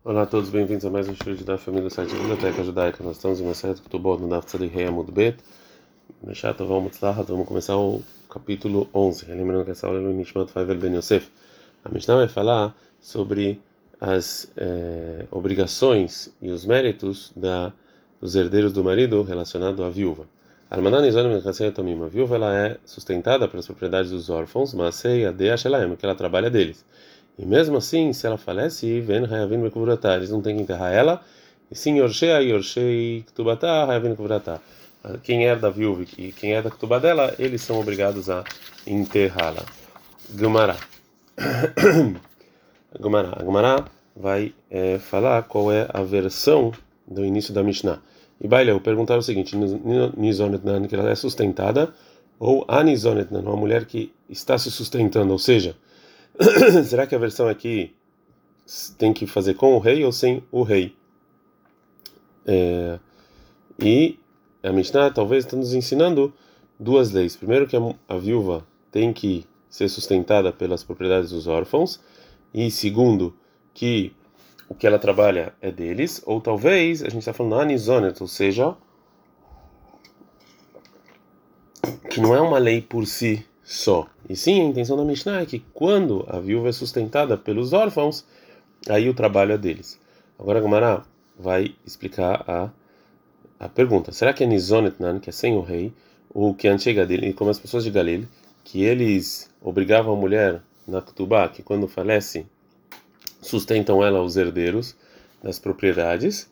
Olá a todos, bem-vindos a mais um estudo da família do site Biblioteca Judaica. Nós estamos em uma série de Ketubot no Daf Tzadik Rei Amud Bet. Vamos começar o capítulo 11. Lembrando que essa aula é o Nishmat Faivel Ben Yosef. A Mishnah vai falar sobre as obrigações e os méritos dos herdeiros do marido relacionado à viúva. A viúva ela é sustentada pelas propriedades dos órfãos, mas que ela trabalha deles. E mesmo assim, se ela falece, eles não têm que enterrar ela. E sim, Yorshei Ktubata, Hayavin Kuvratá. Quem é da viúva e quem é da Ktubá dela, eles são obrigados a enterrá-la. Gemara. A Gemara vai falar qual é a versão do início da Mishnah. E Baileu perguntaram o seguinte: Nizonetnan, que ela é sustentada, ou Anizonetnan, uma mulher que está se sustentando, ou seja, será que a versão aqui tem que fazer com o rei ou sem o rei? E a Mishnah talvez está nos ensinando duas leis. Primeiro, que a viúva tem que ser sustentada pelas propriedades dos órfãos. E segundo, que o que ela trabalha é deles. Ou talvez, a gente está falando anizonet, ou seja, que não é uma lei por si só. E sim, a intenção da Mishnah é que quando a viúva é sustentada pelos órfãos, aí o trabalho é deles. Agora a Gemara vai explicar a pergunta. Será que é Nizonetnan, que é sem o rei, ou que chega dele, como as pessoas de Galil, que eles obrigavam a mulher na Ketubá, que quando falece, sustentam ela os herdeiros das propriedades,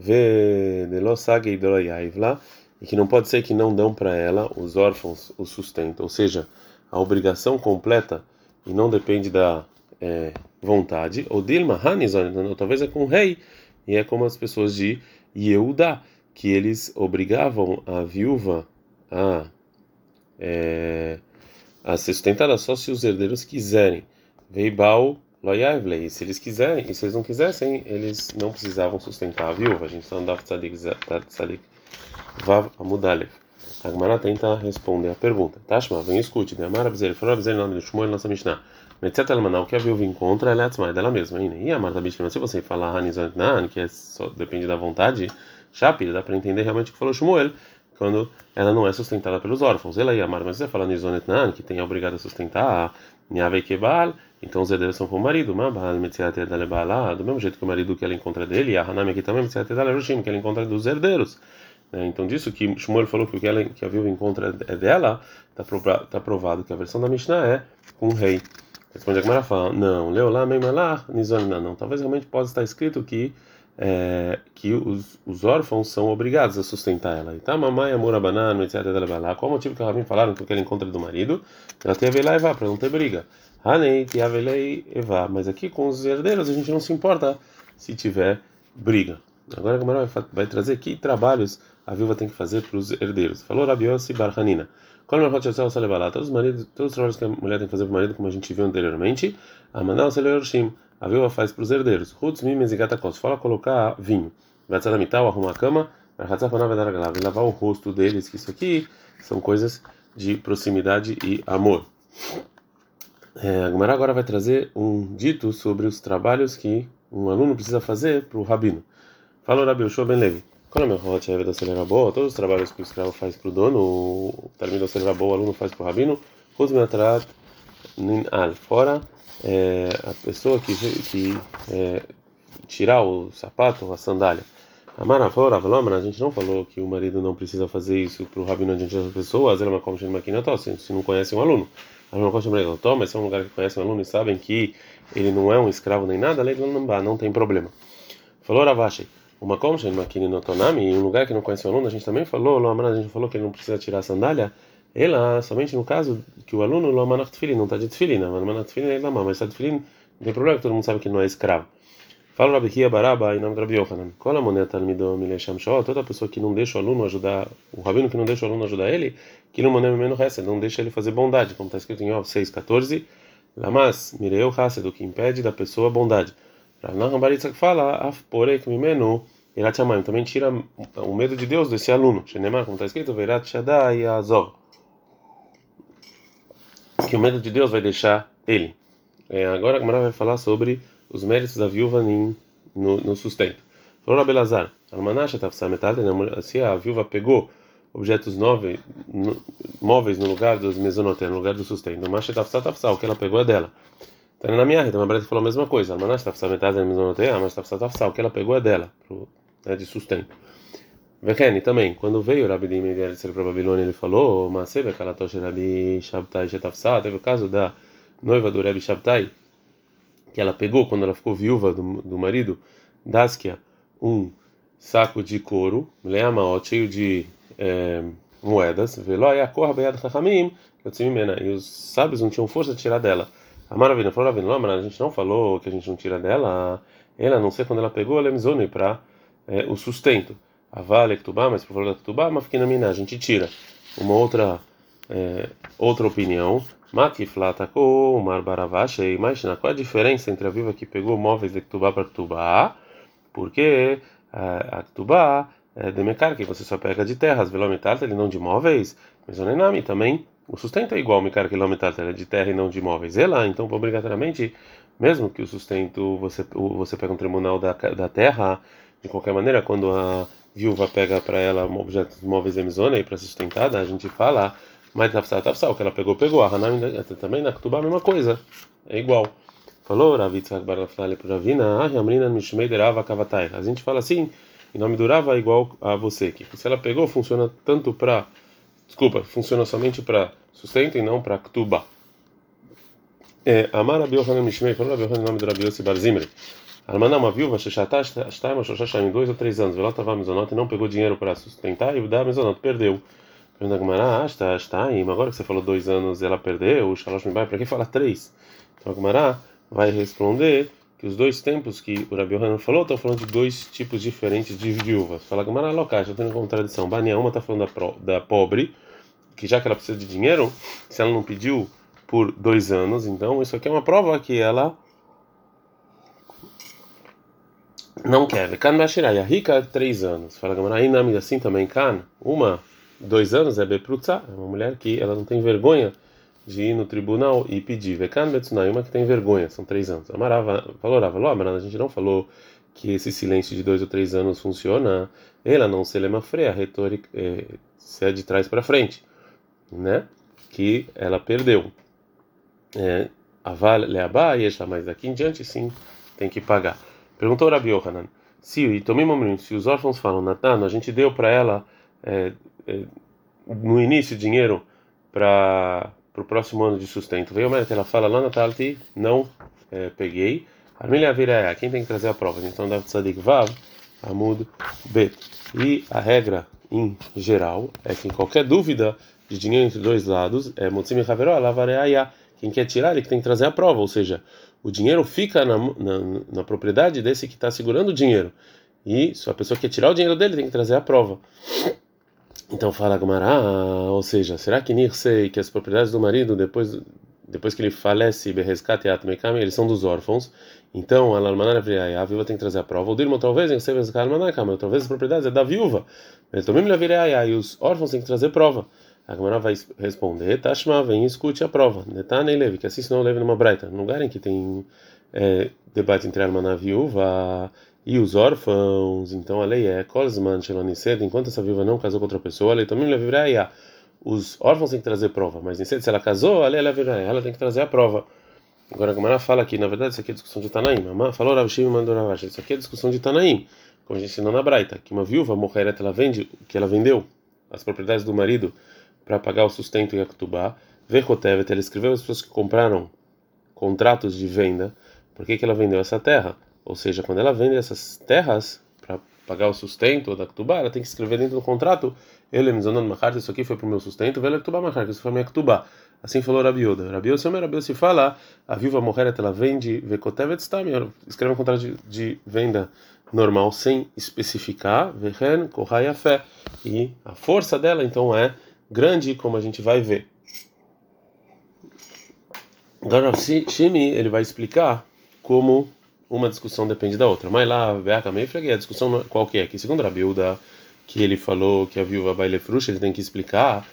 e que não pode ser que não dão para ela, os órfãos, o sustento, ou seja, a obrigação completa e não depende da vontade, ou Dilma Hanizonetnan, ou talvez é com o rei, e é como as pessoas de Yehudá, que eles obrigavam a viúva a ser sustentada só se os herdeiros quiserem. Veibal loyavlei. Se eles quiserem, e se eles não quisessem, eles não precisavam sustentar a viúva. A gente só andava tzadik vav amudalev. A Gemara tenta responder a pergunta. Tashma, vem escute. De Amar Abzer, falou Abzer, nome de Shmuel, nossa Mishnah. Metzet al-Manal, que a viúva encontra, ela é atzmai dela mesma. E a Marta Bishma, se você falar Hanizantnan, que só depende da vontade, Shapir, dá para entender realmente o que falou Shmuel, quando ela não é sustentada pelos órfãos. Ela e a Marta, mas você fala Nizonetnan, que tem a obrigada a sustentar, Niavei Kebal, então os herdeiros são para o marido, do mesmo jeito que o marido que ela encontra dele, e a Hanami aqui também, que ela encontra dos herdeiros. Então, disso que Shmuel falou que o que a viúva encontra é dela, está provado que a versão da Mishnah é com o rei. Responde a Gemara fala: não, Leolá, Meimalá, Nizonetnan, não. Talvez realmente possa estar escrito que os órfãos são obrigados a sustentar ela. Então, mamãe, amor, banana, etc. Qual o motivo que a Rabin falaram que ela encontra do marido? Ela tem a velei Eva, para não ter briga. Hanei, tem a velei Eva. Mas aqui com os herdeiros a gente não se importa se tiver briga. Agora a Gemara vai trazer que trabalhos a viúva tem que fazer para os herdeiros. Falou Rabi Yossi Bar Hanina. Todos os trabalhos que a mulher tem que fazer para o marido, como a gente viu anteriormente, a Manal Seleorshim. A viúva faz para os herdeiros. Rutz mimes e gatakos. Fala colocar vinho. Vai arrumar a cama. Vai lavar o rosto deles. Que isso aqui são coisas de proximidade e amor. A Gemara agora vai trazer um dito sobre os trabalhos que um aluno precisa fazer para o rabino. Fala Rabi Yoshua Ben Levi. Todos os trabalhos que o escravo faz para o dono, o termino o aluno faz para o rabino. Rutz minatrat ninal. Fora a pessoa que tirar o sapato, a sandália. A gente não falou que o marido não precisa fazer isso para o rabino diante das pessoas, ela como se não conhece um aluno. Mas se é um lugar que conhece um aluno e sabem que ele não é um escravo nem nada, não tem problema. Falou Ravashi, uma como se em um lugar que não conhece um aluno, a gente também falou, a gente falou que ele não precisa tirar a sandália. Ela, somente no caso que o aluno não está de tefilin, mas está de tefilin, não tem problema, todo mundo sabe que não é escravo. Fala Rabi Hia Baraba em nome de Rabi Yohanan. Qual a moneta talmidom milesham shó? Toda pessoa que não deixa o aluno ajudar, o rabino que não deixa o aluno ajudar ele, que não manem menos hesed, não deixa ele fazer bondade, como está escrito em Ov 6:14. Lamas mireu hesed, o que impede da pessoa a bondade. Rav Baritzak fala af porek mimenu irat shamayim, também tira o medo de Deus desse aluno. Shenemar, como está escrito, veirat shadai azov, que o medo de Deus vai deixar ele. Agora a Gemara vai falar sobre os méritos da viúva no sustento. Falou Rabelazar, se a viúva pegou objetos móveis no lugar dos mesonoté, no lugar do sustento, mas o que ela pegou é dela. Então, na minha reta, uma breta falou a mesma coisa. O que ela pegou é dela, de sustento. Vekene também, quando veio o Rabi Meir para a Babilônia, ele falou: Masebe Kalatosh Rabi Shabtai Shetafsa. Teve o caso da noiva do Rabi Shabtai, que ela pegou quando ela ficou viúva do marido, Daskia, um saco de couro, leamaot, cheio de moedas, e os sábios não tinham força de tirar dela. A Maravina falou: a gente não falou que a gente não tira dela, ela não sei quando ela pegou, ela é para o sustento. A Vale Ktubá, mas por falar da Ktubá, mas fiquei na mina, a gente tira. Uma outra opinião. Matiflatako, Mar Baravashei, mas qual é a diferença entre a viúva que pegou móveis de Ktubá para Ktubá? Porque a Ktubá é de Mekar, que você só pega de terras, velomitalta, ele não de móveis, mas o Nenami também. O sustento é igual, Mekar, que velomitalta, ele é de terra e não de móveis. E lá, então, obrigatoriamente, mesmo que o sustento você pega um tribunal da terra, de qualquer maneira, quando a viúva pega para ela objetos móveis emizona e para sustentada, a gente fala, mas tafsal, que ela pegou, a Hanami também na Ktubá a mesma coisa, é igual. Falou Rav Yitzhak bar Naftali para Ravina, Amrina Mishmei derava kavatai. A gente fala assim, em nome do Rava igual a você, que se ela pegou funciona funciona somente para sustento e não para Ktubá. Amar Rabi Yohanan Mishmei, falou Rabi Yohanan em nome do Rabi Yossi bar Zimri. Almaná, uma viúva, em 2 ou 3 anos, ela estava mesonota e não pegou dinheiro para sustentar e da mesonota perdeu. Pergunta Gumará, agora que você falou 2 anos ela perdeu, o Shalosh Mibai, para que fala 3? Então a Gumará vai responder que os 2 tempos que o Rabi Yohanan falou estão falando de 2 tipos diferentes de viúvas. Fala Gumará, local, já tem contradição. Bania, uma está falando da pobre, que já que ela precisa de dinheiro, se ela não pediu por 2 anos, então isso aqui é uma prova que ela não quer. Kan Bashirai, a rica 3 anos. Fala Gamara, aí nome assim também Kan. 2 anos é Beprutza, é uma mulher que ela não tem vergonha de ir no tribunal e pedir. Vekan Betsunai, uma que tem vergonha, são 3 anos. Amarava, valorava, a gente não falou que esse silêncio de 2 ou 3 anos funciona. Ela não se lema freia, a retórica se é de trás para frente, né? Que ela perdeu. A Vale Leabá e mas daqui em diante sim tem que pagar. Perguntou Rabi Yohanan, se os órfãos falam, Natan, a gente deu para ela no início dinheiro para o próximo ano de sustento. Veio mais que ela fala lá na Talti, não peguei. Armilha vira quem tem que trazer a prova? Então dá Tzadik Vav, Amud Bet. E a regra em geral é que em qualquer dúvida de dinheiro entre 2 lados, Motzim e Haveró, Lavareaya, quem quer tirar ele que tem que trazer a prova, ou seja, o dinheiro fica na propriedade desse que está segurando o dinheiro. E se a pessoa quer tirar o dinheiro dele, tem que trazer a prova. Então fala Gamara, ou seja, será que Nirsei, que as propriedades do marido, depois que ele falece, eles são dos órfãos, então a viúva tem que trazer a prova. O Dirmo talvez, talvez as propriedades é da viúva. E os órfãos têm que trazer prova. A Gamara vai responder, Tashma, vem e escute a prova. Netane e Levi, que assim senão leve numa braita. No lugar em que tem debate entre a irmã e viúva e os órfãos, então a lei é Kolzman Shelonised, enquanto essa viúva não casou com outra pessoa, a lei também levirá. Os órfãos têm que trazer prova, mas se ela casou, a lei levirá, ela tem que trazer a prova. Agora a Gamara fala que, na verdade, isso aqui é discussão de Tanaim. Falou Rav Shimi mandou Ravash, isso aqui é discussão de Tanaim, como a gente ensinou na braita, que uma viúva, Mocheret, ela vende, que ela vendeu as propriedades do marido para pagar o sustento em Aktubá. Vechotevet, ela escreveu as pessoas que compraram contratos de venda. Por que ela vendeu essa terra? Ou seja, quando ela vende essas terras para pagar o sustento da Aktubá, ela tem que escrever dentro do contrato: isso aqui foi para o meu sustento, isso foi minha Aktubá. Assim falou Rabi Yoda. Rabi Yoda se fala, a viúva morrer, ela vende, Vechotevet está, escreve um contrato de venda normal sem especificar, Vehen Kohayafé, e a força dela então é grande, como a gente vai ver. Agora Shimi ele vai explicar como uma discussão depende da outra. Mas lá a discussão qual que é? Que segundo Rabi Yehuda, que ele falou que a viúva Bailefrush, ele tem que explicar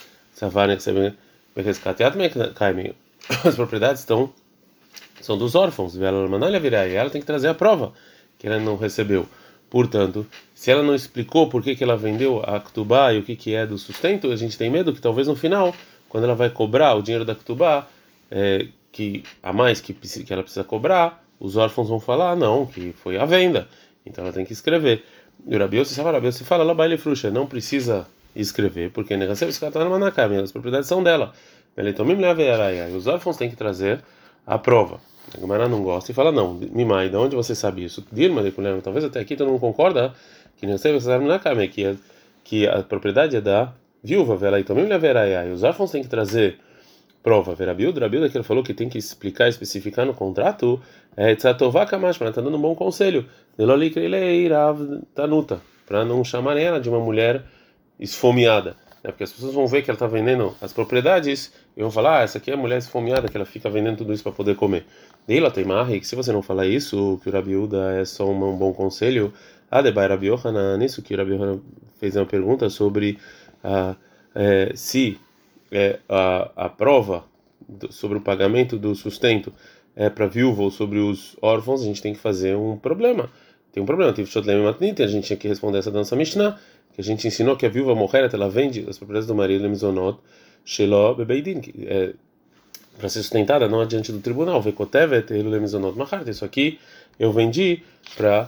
as propriedades são dos órfãos, ela tem que trazer a prova que ela não recebeu. Portanto, se ela não explicou por que ela vendeu a Ktubá e o que é do sustento, a gente tem medo que talvez no final, quando ela vai cobrar o dinheiro da Ktubá, que a mais que ela precisa cobrar, os órfãos vão falar, não, que foi a venda. Então ela tem que escrever. E o Rabi Yossi fala, lá baile fruxa, não precisa escrever, porque as propriedades são dela. E os órfãos têm que trazer a prova. A Gemara não gosta e fala, não, Mimai, de onde você sabe isso? Dilma, talvez até aqui todo mundo concorda que que a propriedade é da viúva, e os órfãos têm que trazer prova. Verabilda, que ele falou que tem que explicar, especificar no contrato, Tzatová Kamashma, está dando um bom conselho. Tanuta, para não chamarem ela de uma mulher esfomeada, né? Porque as pessoas vão ver que ela está vendendo as propriedades e vão falar, essa aqui é a mulher esfomeada que ela fica vendendo tudo isso para poder comer. E ela tem marre que se você não falar isso, que o Rabiuda é só um bom conselho. Debai Rabi Yohanan, nisso que o Rabi Yohanan fez uma pergunta sobre se a prova sobre o pagamento do sustento é para viúva ou sobre os órfãos, a gente tem que fazer um problema. Tem um problema. A gente tinha que responder essa dança Mishnah, que a gente ensinou que a viúva morrer, ela vende as propriedades do marido, Lemizonot, Shelo, Bebeidin, para ser sustentada não adiante do tribunal. Vekotevet, Lemizonot, Machart. Isso aqui eu vendi para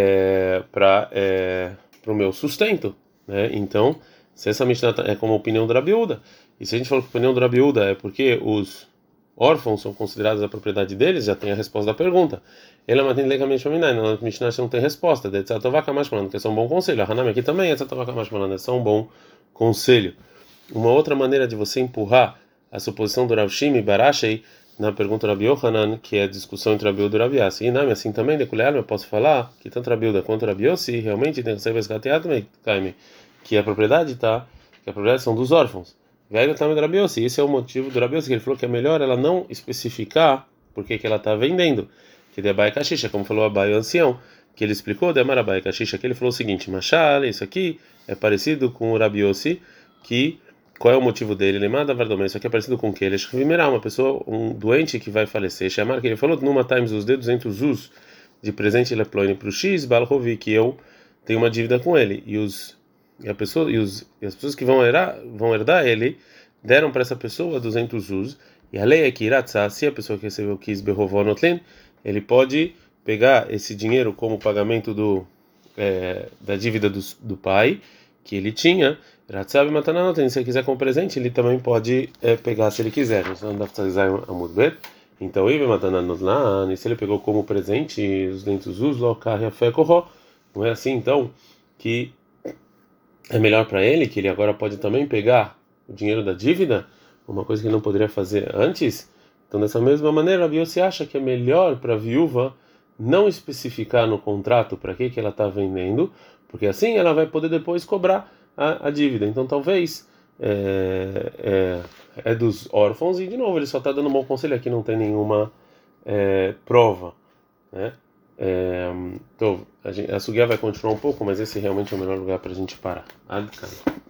o meu sustento, né? Então, se essa Mishnah é como a opinião do Rabiuda, e se a gente falou que a opinião do Rabiuda é porque os órfãos são considerados a propriedade deles, já tem a resposta da pergunta. Ele é mantém legalmente na Mishnah não tem resposta. De Tzatová Kamash Malando, que é só um bom conselho. A Hanami aqui também é Tzatová Kamash Malando, é só um bom conselho. Uma outra maneira de você empurrar a suposição do Rav Shimi Barashei na pergunta do Rabi Yohanan, que é a discussão entre Rabiuda e Rabi Yossi. E não, assim também, de colher, eu posso falar que tanto Rabiuda quanto Rabi Yossi realmente tem que ser resgateado, que a propriedade que a propriedade são dos órfãos. Velho também do Rabi Yossi. Esse é o motivo do Rabi Yossi, que ele falou que é melhor ela não especificar por que ela está vendendo. Que de Abai Kashisha, como falou Abai o ancião, que ele explicou de Amar Abai Kashisha, que ele falou o seguinte: Machal, isso aqui é parecido com o Rabi Yossi, que qual é o motivo dele? Lemada Vardomé, isso aqui é parecido com o que? Ele é uma pessoa, um doente que vai falecer. Chamar que ele falou numa times os dedos entre os us de presente Leploine para o X, Balrovi, que eu tenho uma dívida com ele. E as pessoas que vão herdar ele deram para essa pessoa 200 us. E a lei é que Iratzá, se a pessoa que recebeu quis Behovonotlin, ele pode pegar esse dinheiro como pagamento da dívida do pai que ele tinha. Iratzá Matananotlin, se ele quiser como presente, ele também pode pegar se ele quiser. Então, dá para usar a Mudbet. Então, e se ele pegou como presente os 200 us, não é assim então que é melhor para ele, que ele agora pode também pegar o dinheiro da dívida, uma coisa que ele não poderia fazer antes? Então, dessa mesma maneira, a Yossi acha que é melhor para a viúva não especificar no contrato para que ela está vendendo, porque assim ela vai poder depois cobrar a dívida. Então, talvez é dos órfãos, e de novo, ele só está dando um bom conselho aqui, não tem nenhuma prova, né? Então, a Sugiá vai continuar um pouco, mas esse realmente é o melhor lugar para a gente parar.